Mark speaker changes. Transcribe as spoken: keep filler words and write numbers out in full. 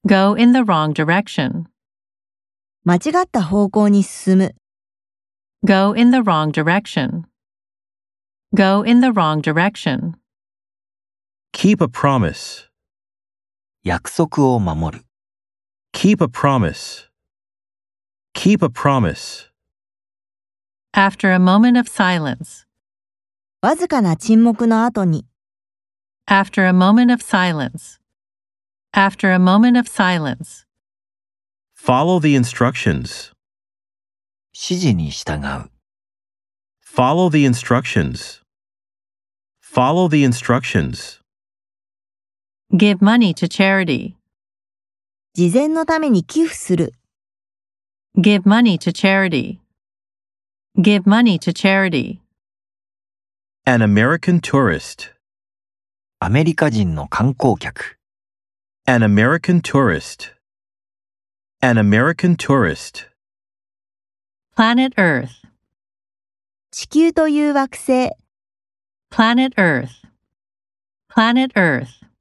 Speaker 1: Go in the wrong direction.
Speaker 2: 間違った方向に進む。
Speaker 1: Go in the wrong direction. Go in the wrong direction.
Speaker 3: Keep a promise.
Speaker 4: 約束を守る。
Speaker 3: Keep a promise. Keep a promise.
Speaker 1: After a moment of silence.
Speaker 2: わずかな沈黙の後に。
Speaker 1: After a moment of silence. After a moment of silence.
Speaker 3: Follow the instructions.
Speaker 4: 指示に従う。
Speaker 3: Follow the instructions. Follow the instructions.
Speaker 1: Give money to charity.
Speaker 2: 慈善のために寄付する。
Speaker 1: Give money to charity. Give money to charity.
Speaker 3: An American tourist.
Speaker 4: アメリカ人の観光客。
Speaker 3: An American tourist. An American tourist.
Speaker 1: Planet Earth.
Speaker 2: 地球という惑星。
Speaker 1: Planet Earth. Planet Earth.